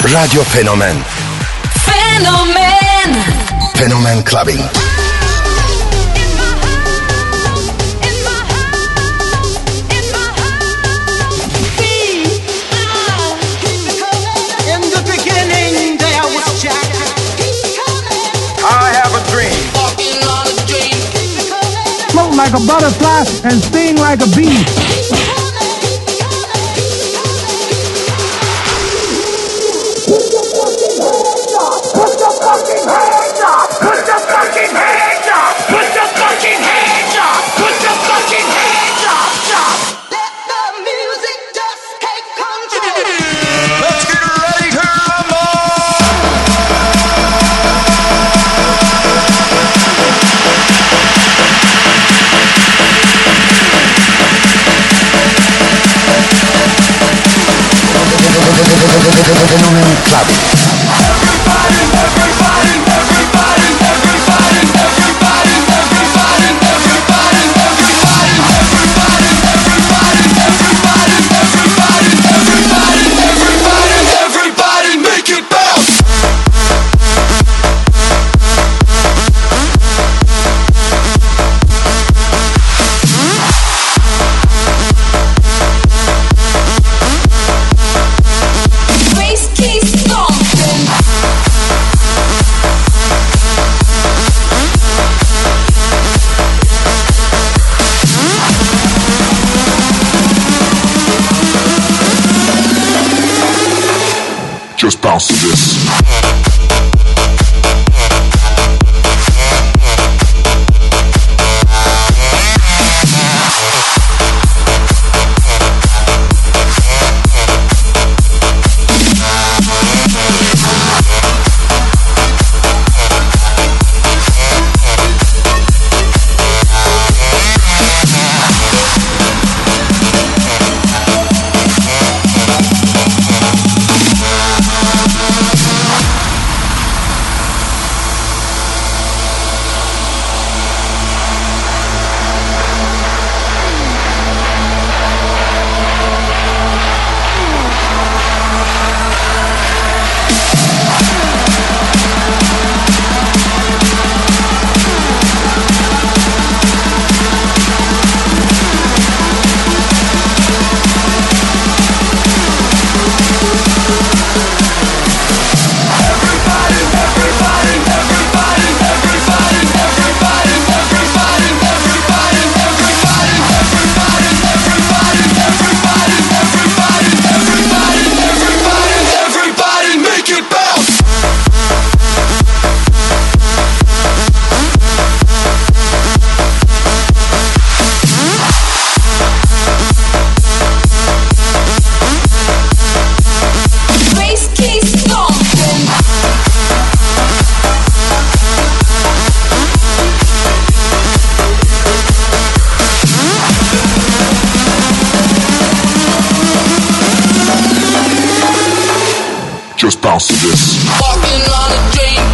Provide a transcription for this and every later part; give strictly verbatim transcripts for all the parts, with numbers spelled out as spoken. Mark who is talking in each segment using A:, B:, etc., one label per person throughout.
A: Radyo Fenomen.
B: Fenomen.
A: Fenomen Clubbing.
C: Float like a butterfly and sting like a bee. Put your fucking hands up! Put your fucking hands up! Put your fucking hands up! Put your fucking hands up! Put your fucking hands up!
D: Let the music just take control.
E: Let's get ready to rumble!
A: Fenomen Clubbing.
E: Everybody, everybody, everybody, everybody, everybody, everybody, everybody, everybody, everybody, everybody, everybody, everybody, everybody, everybody, make it bounce.
B: Bass keys stomping.
E: Just bounce to this.
B: Bass keys stomping.
E: Just bounce to this.
D: Walking on a dream.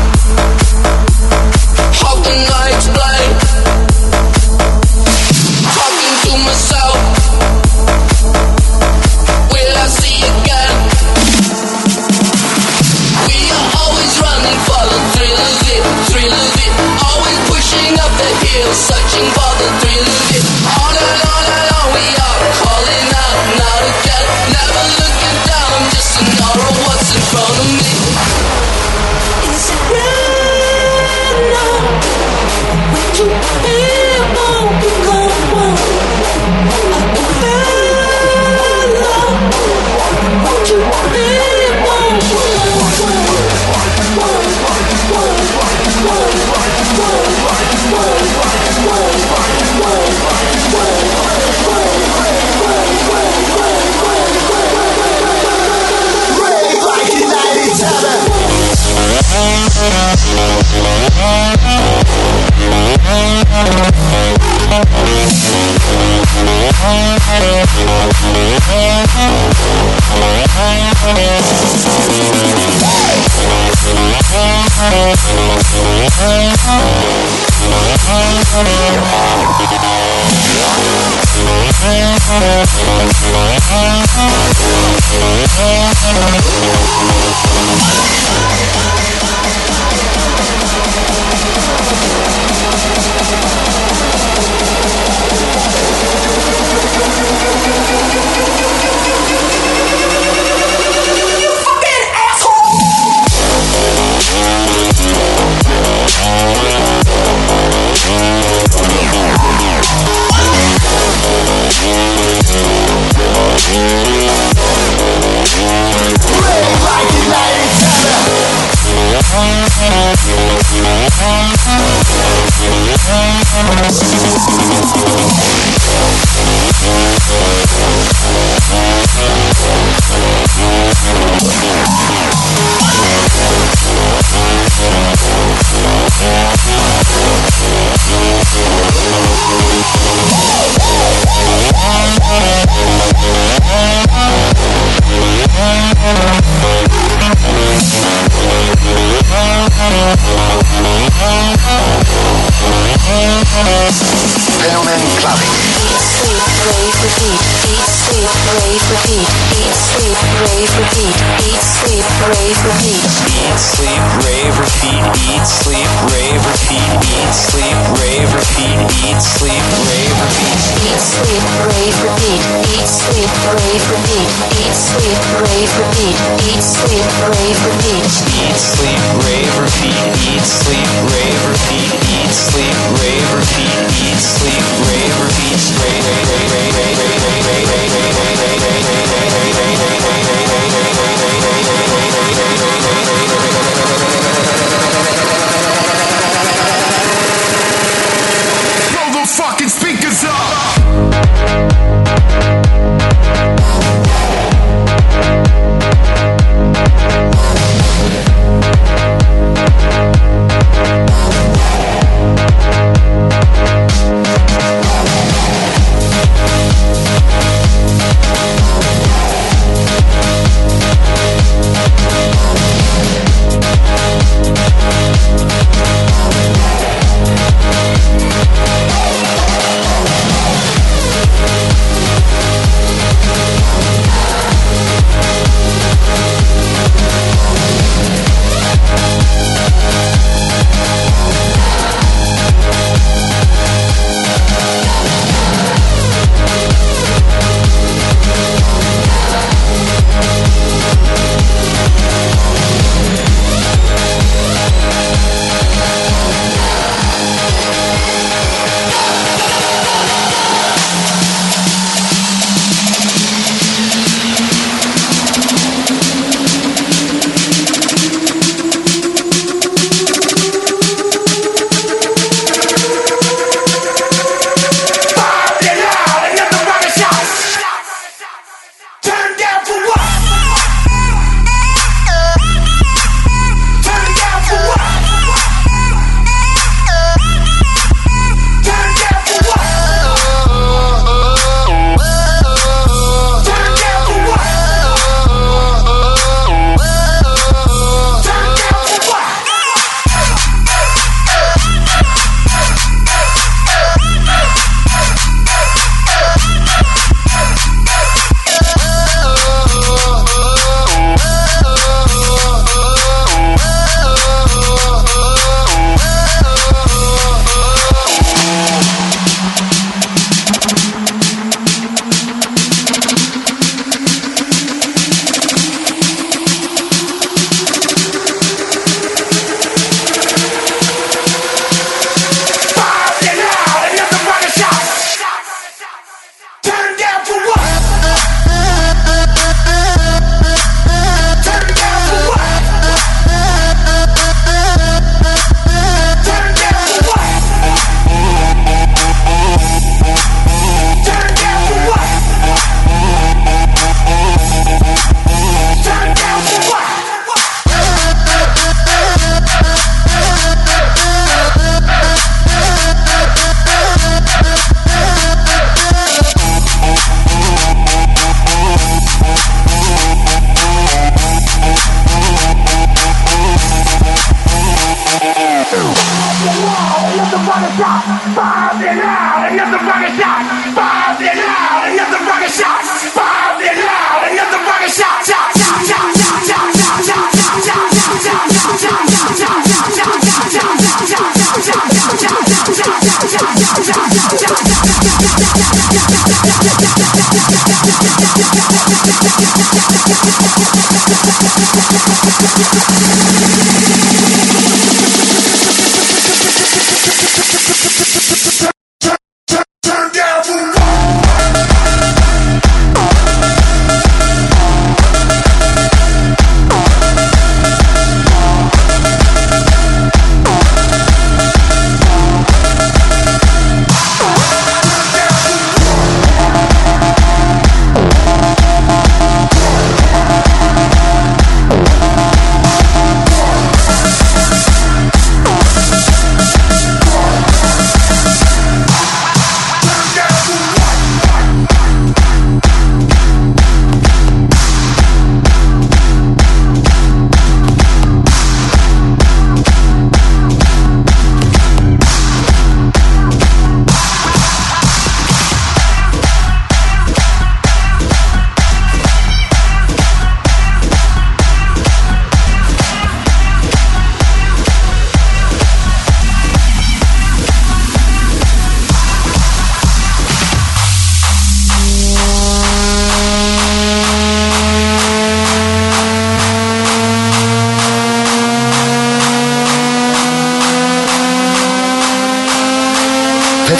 D: How can I explain? Talking to myself. Will I see again? We are always running for the thrill of it, thrill of it. Always pushing up the hill, searching for the thrill of it. On and on and on we are calling out, not again. Never looking down, I'm just an aura of what's in front of me.
B: Is it real now? Would you feel more become I can feel love. Would you feel more
D: Rave like United
E: We'll be right back.
A: Fenomen Clubbing.
B: Eat, sleep, rave, repeat. Eat, sleep, rave, repeat. Eat, sleep, rave, repeat. Eat, sleep, rave, repeat.
F: Eat, sleep, rave, repeat. Eat, sleep, rave, repeat. Eat, sleep, rave, repeat. Eat, sleep, rave, repeat.
B: Eat, sleep, rave, repeat. Eat, sleep, rave, repeat. Eat, sleep, rave, repeat. Eat, sleep, rave, repeat.
F: Eat, sleep, rave, repeat. Eat, sleep, rave, repeat. Eat, sleep, rave, repeat. Eat, sleep, rave, repeat. Rave, rave, rave, rave, rave, rave, rave, rave, rave, rave, rave, rave,
E: Blow the fucking speakers up.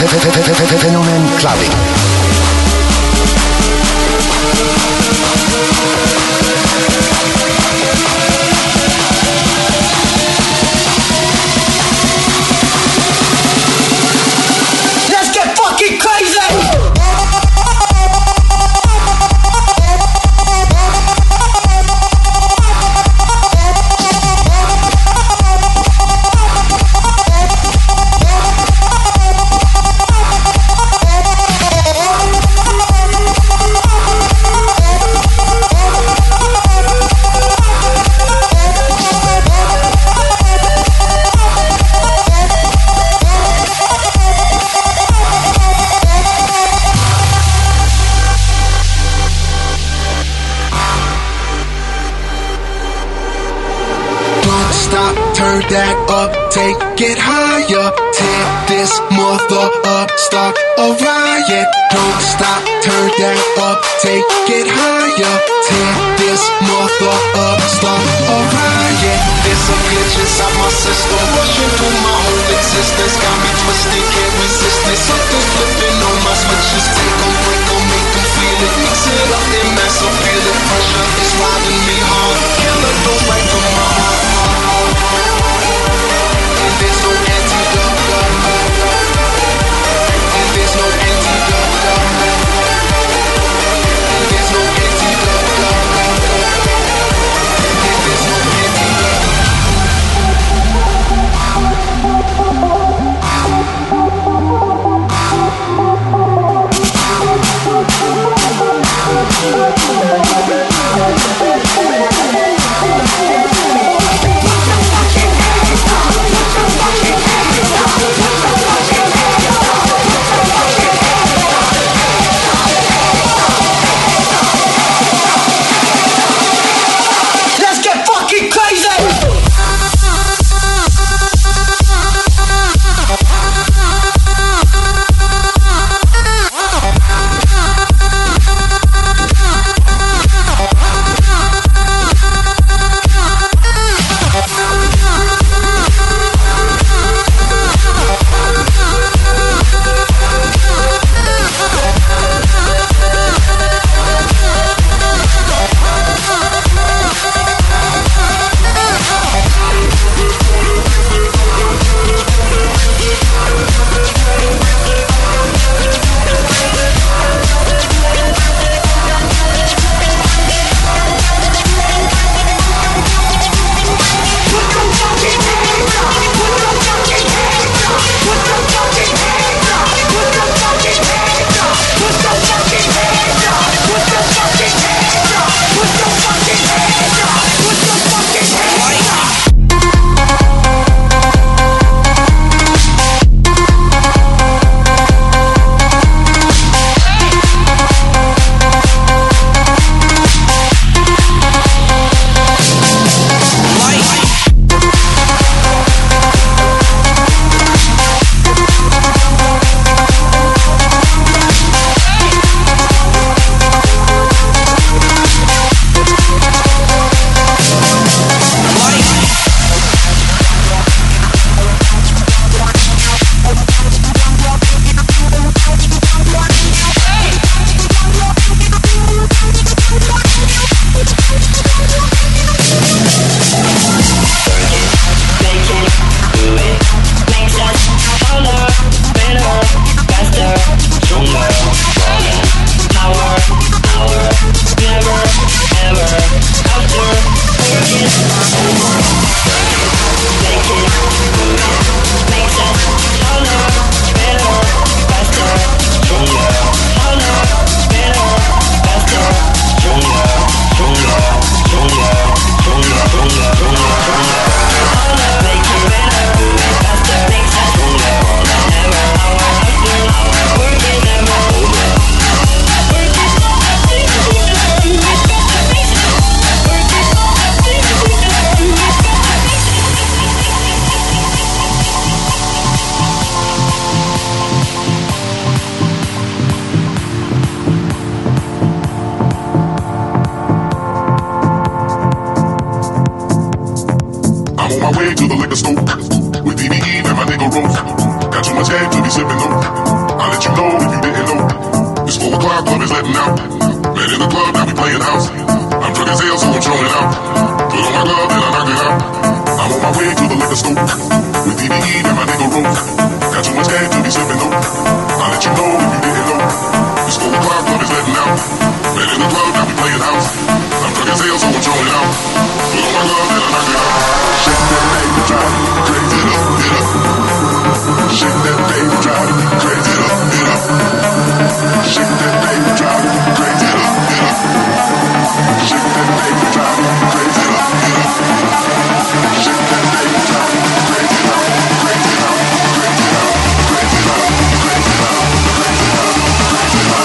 A: Fenomen Clubbing.
C: Let's get fucking crazy!
G: Turn that up, take it higher. Tear this mother up, start a riot. Don't stop, turn that up, take it higher. Tear this mother up, start a riot. There's a glitch inside my system, rushing through my whole existence. Got me twisted, can't resist it. Something flipping on my switches. Take them, break them, make them feel it. Mix it up, then mass appeal it. Pressure is riding me hard. Killer goes right from my heart. There's no antidote, and there's no antidote, and there's no antidote, and there's no
H: way to the liquor store with D B E and my nigga Rose. Got too much head to be sipping on. letting out. Man in the club, now we playing house. I'm drunk as hell, so I'm showing out. Put on my glove and I knock it out. I'm on my way to the liquor store with D B E and my nigga rope. Got too much game to be slipping though. I'll let you know if you didn't know. It's four o'clock, club is letting out. Man in the club, now we playing house. I'm drunk as hell, so I'm showing out. Put on my glove and I knock it out. Shake that baby, drive me crazy, it up, it up. Shake that baby, drive me crazy, it up, it up. Shake that baby, drive me crazy, it up, it up. Shake that baby, drive me crazy, it up, it up. Shake that baby, drive me crazy, it up, crazy it up, crazy it up, crazy it up, crazy it up, crazy it up, crazy it up,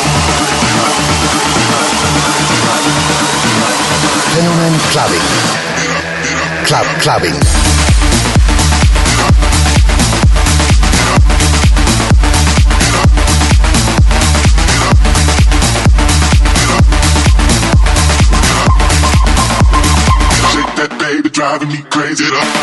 H: crazy it up.
A: Fenomen Clubbing. Club Clubbing.
H: Baby, driving me crazy it up.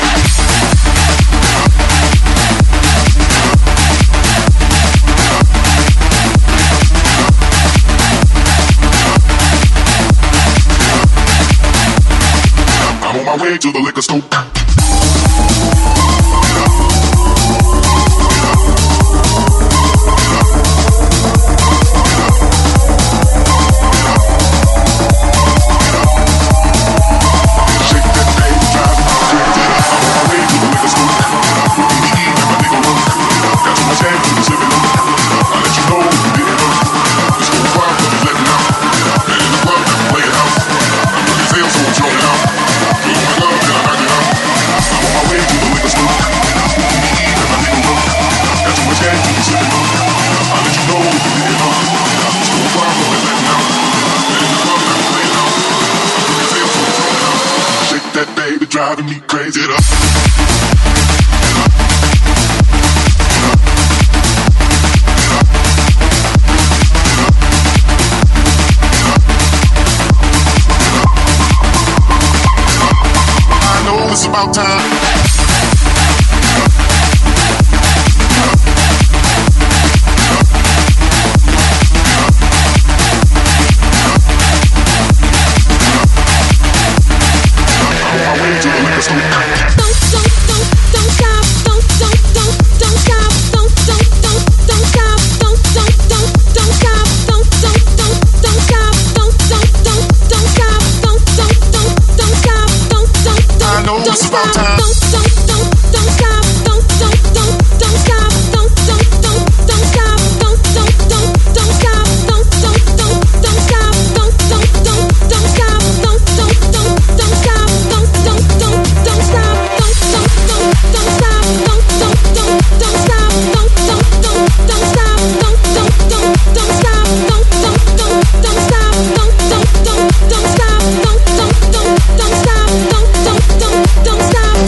H: I'm on my way to the liquor store. Driving me crazy it up. I know it's about time. It's about time.
I: Don't stop.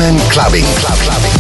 A: Phenomen Clubbing. Club Clubbing.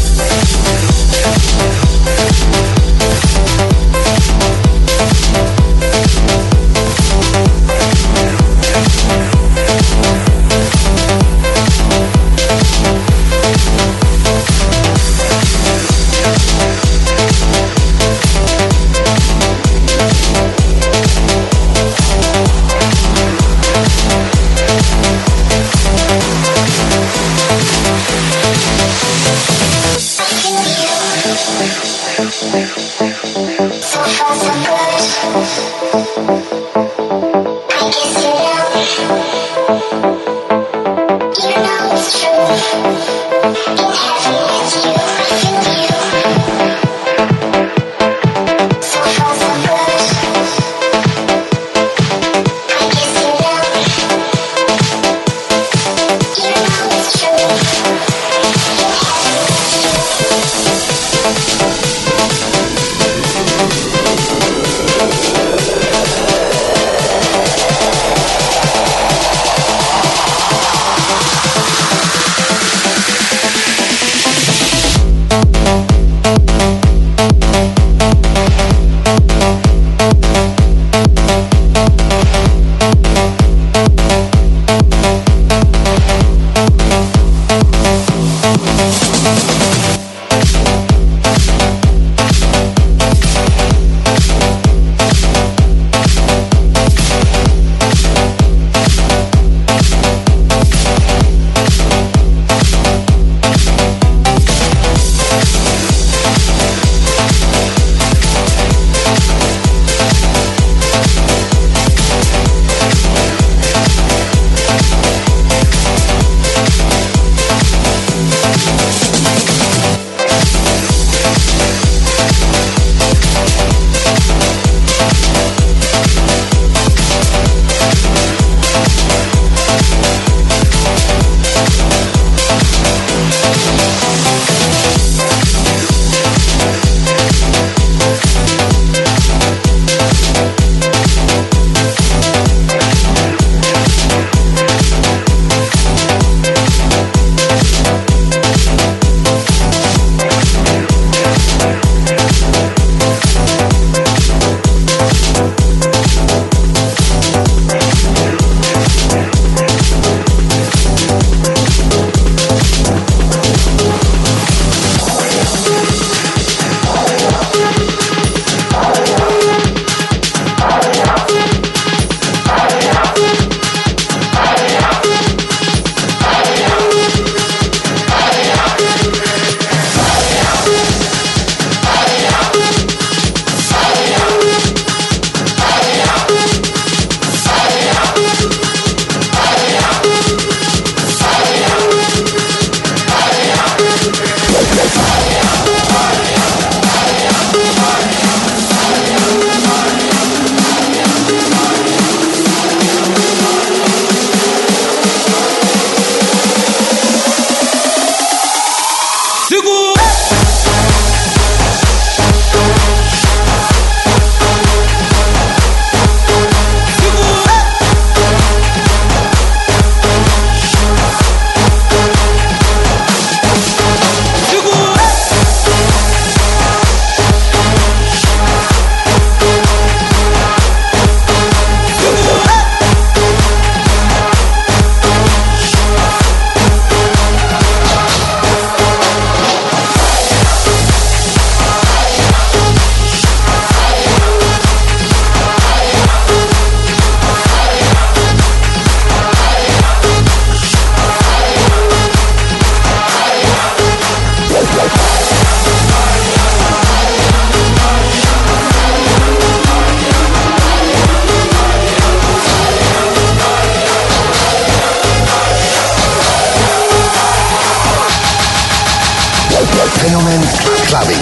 A: Phenomen Clubbing.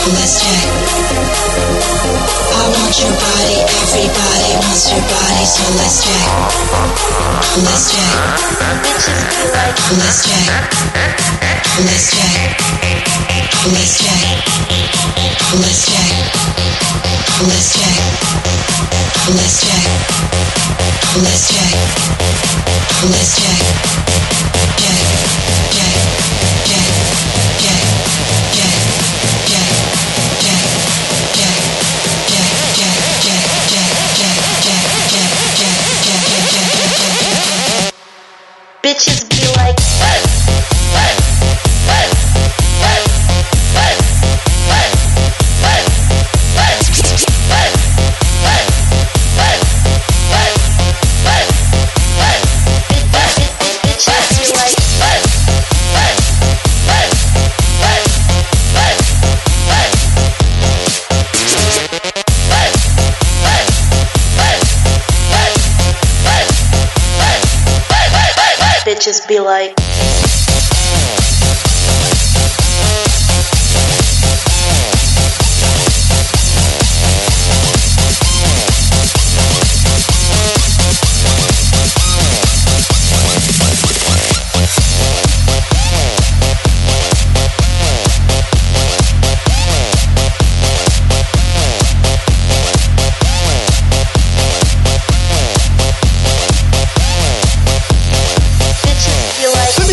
J: let's jack. I want your body, everybody wants your body, so let's jack. Let's jack. Bitches be like, let's jack. Let's jack. Let's jack. Let's jack. Let's jack. Let's jack. Let's jack. Let's jack. Jack. Jack. Jack. Jack. Jack. Jack. Jack. Jack. Jack. Jack. Jack. Jack. Jack. Jack. Jack. Jack. Jack. Jack. Jack.
B: Bitches be like, bitches be like.
C: Let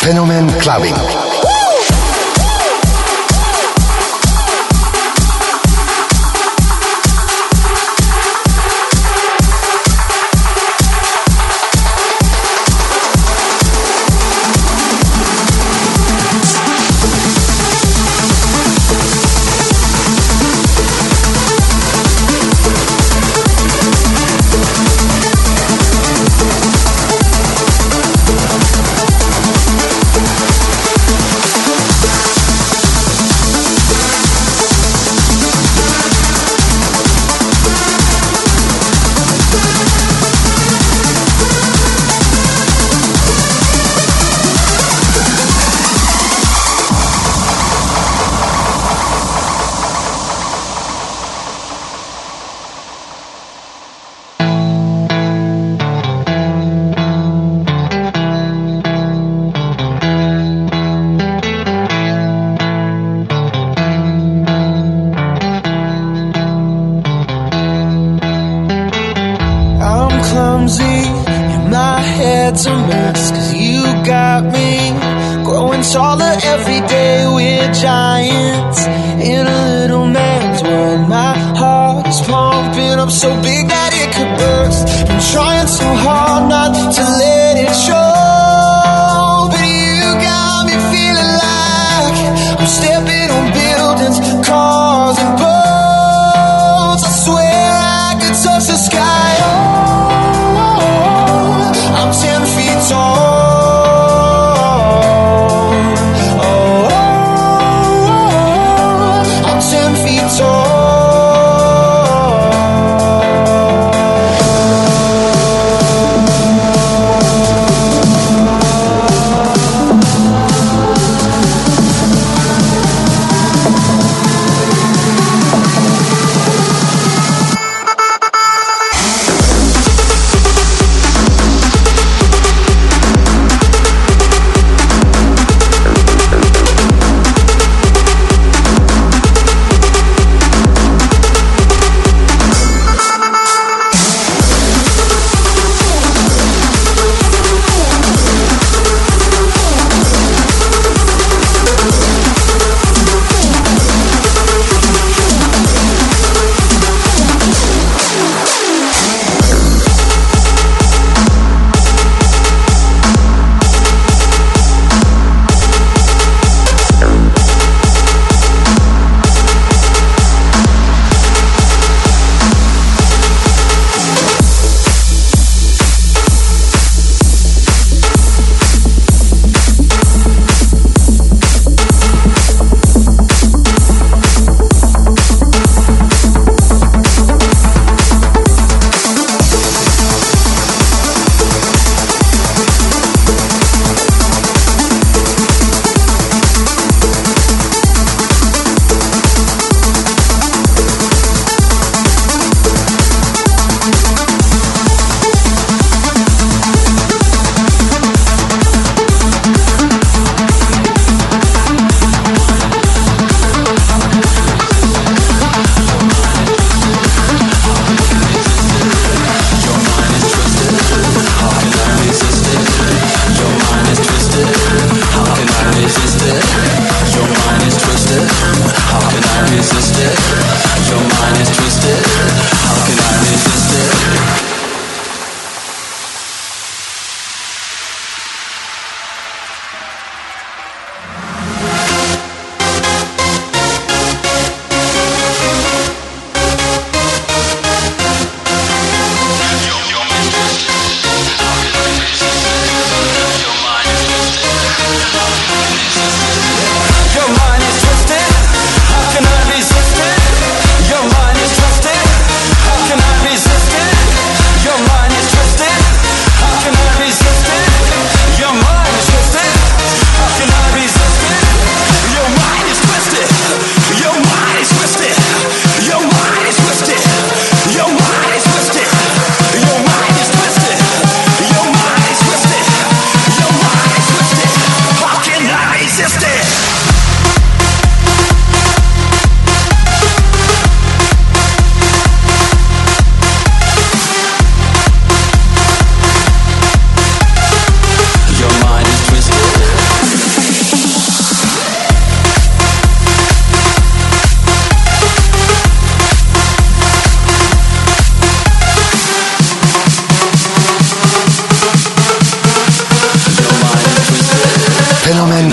A: Fenomen Clubbing.
K: Oh,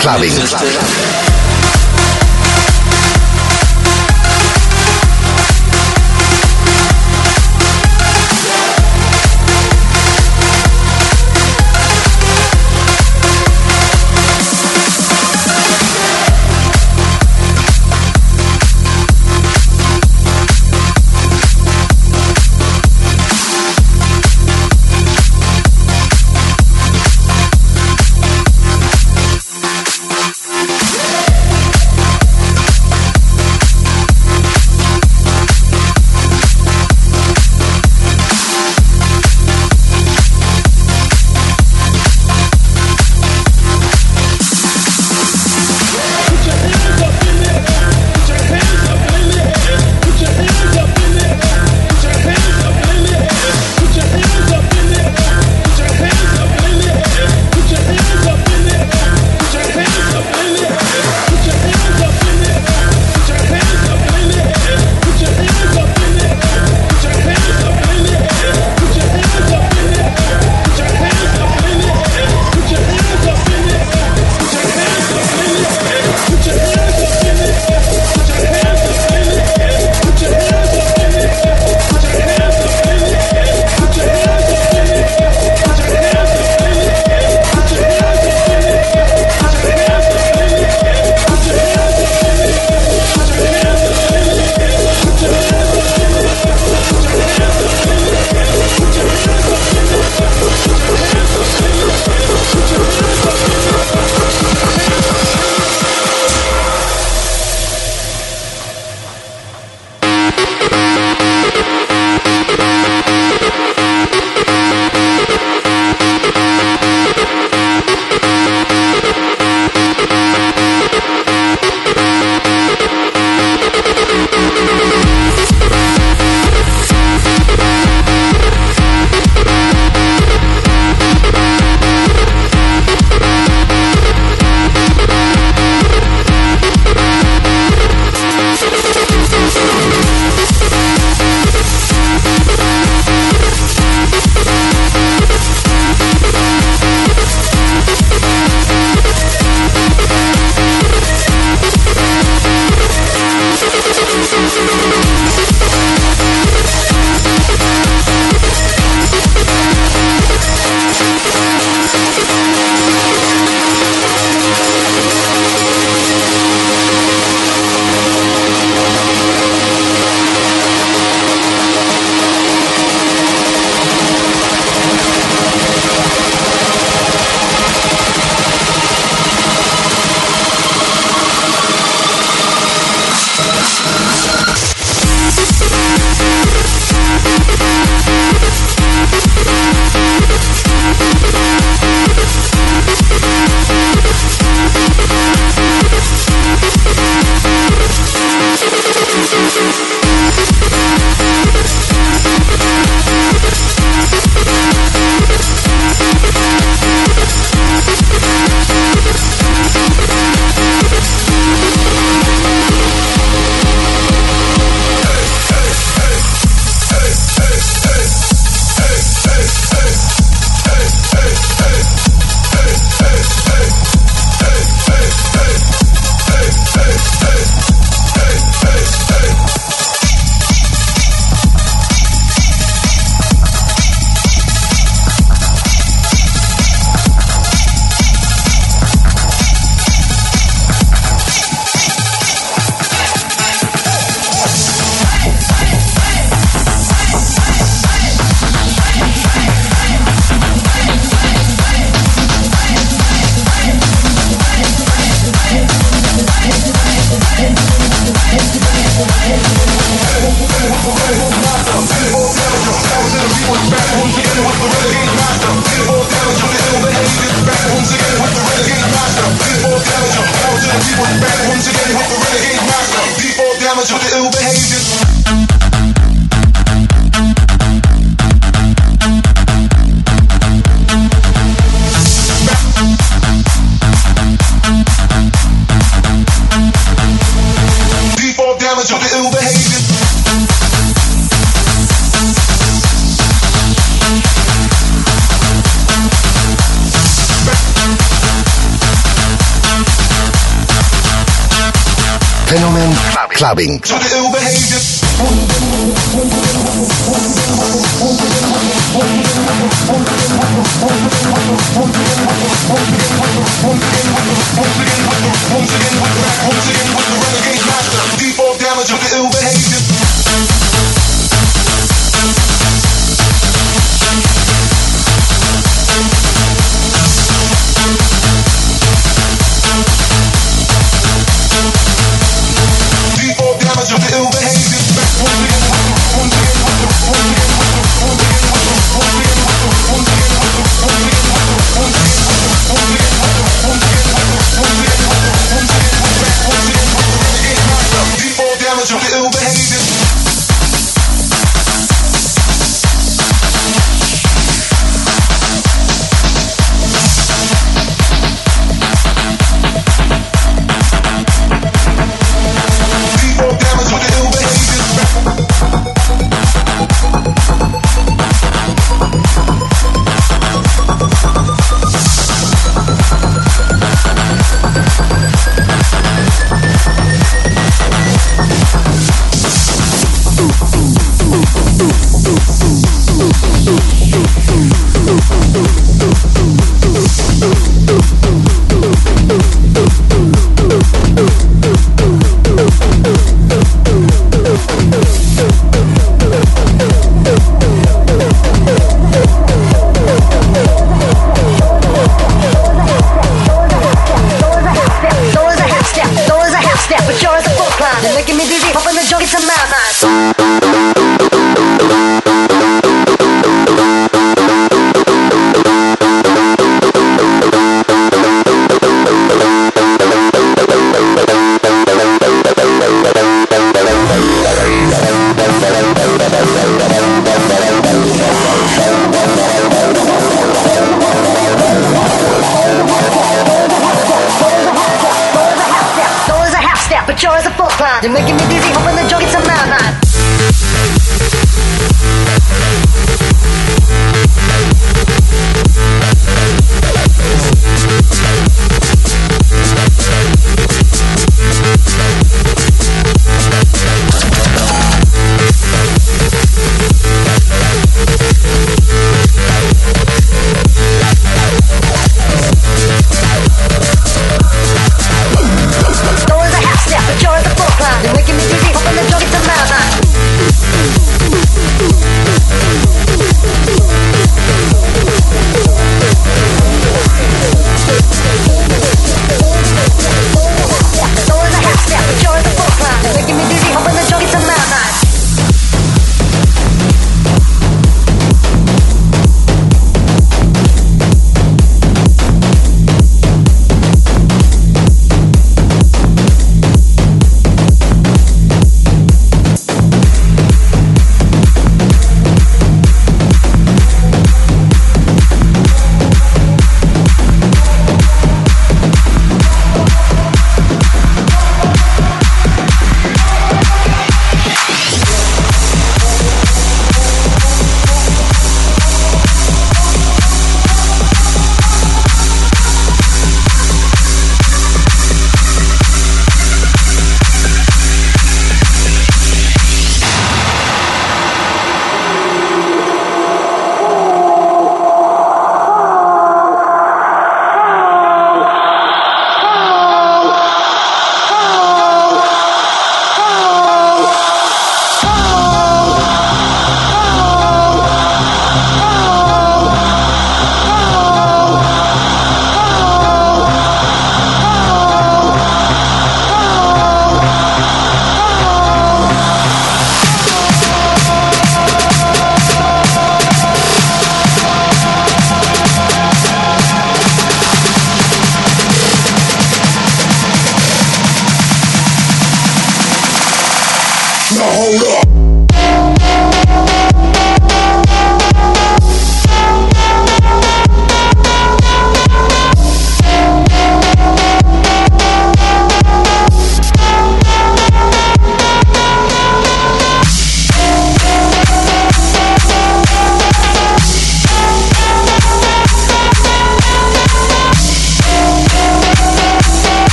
A: clubbing. Clubbing.
G: To the ill behavior. Default damage of the ill behavior. Default damage of the ill behavior.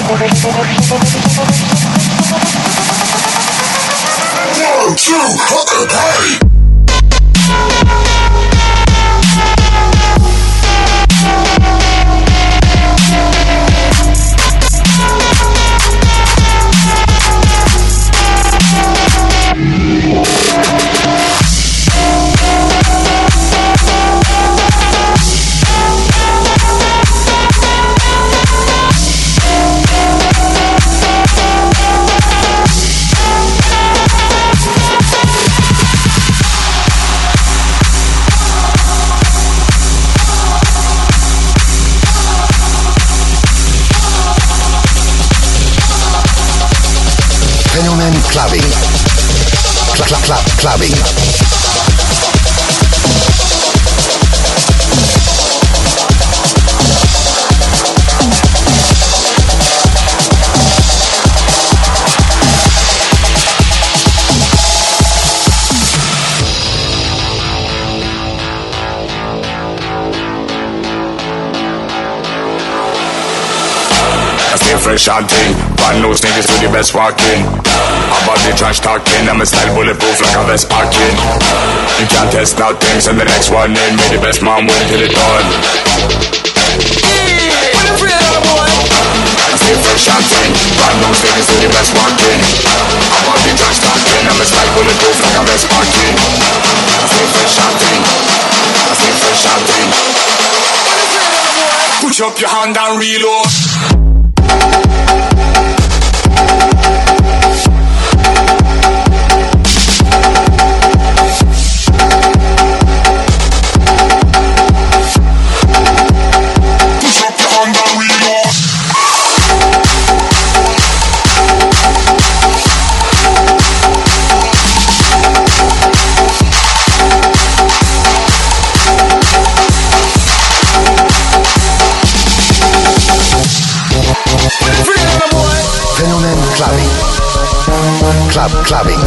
H: One, two, okay, party!
A: Fenomen Clubbing. Cl cl cl clubbing.
E: Fresh and thing, brand new sneakers to the best walking. About the trash talking, I'm a style bulletproof like a vest parking. You can't test nothing, send the next one in. May the best man win till it's done. I stay fresh and thing, brand new sneakers to the best walking. About the trash talking, I'm a style bulletproof like a vest parking. I stay fresh and thing, I stay fresh and thing. Put up your hand and reload.
A: Club clubbing.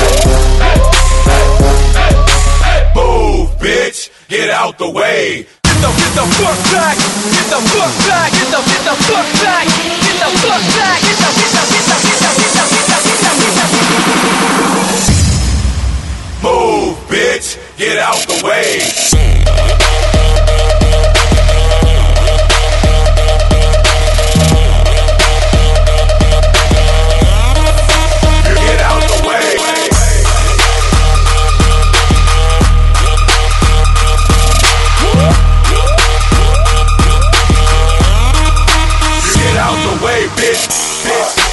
E: Get out the way.
C: Get the, get the fuck back. Get the fuck back. Get the, get the fuck back. Get the fuck back. Get the, get the, get the, get the, get the, get the, get the, get the.
K: Move, bitch. Get out the way. Get out the way. Get out the way, bitch. Bitch.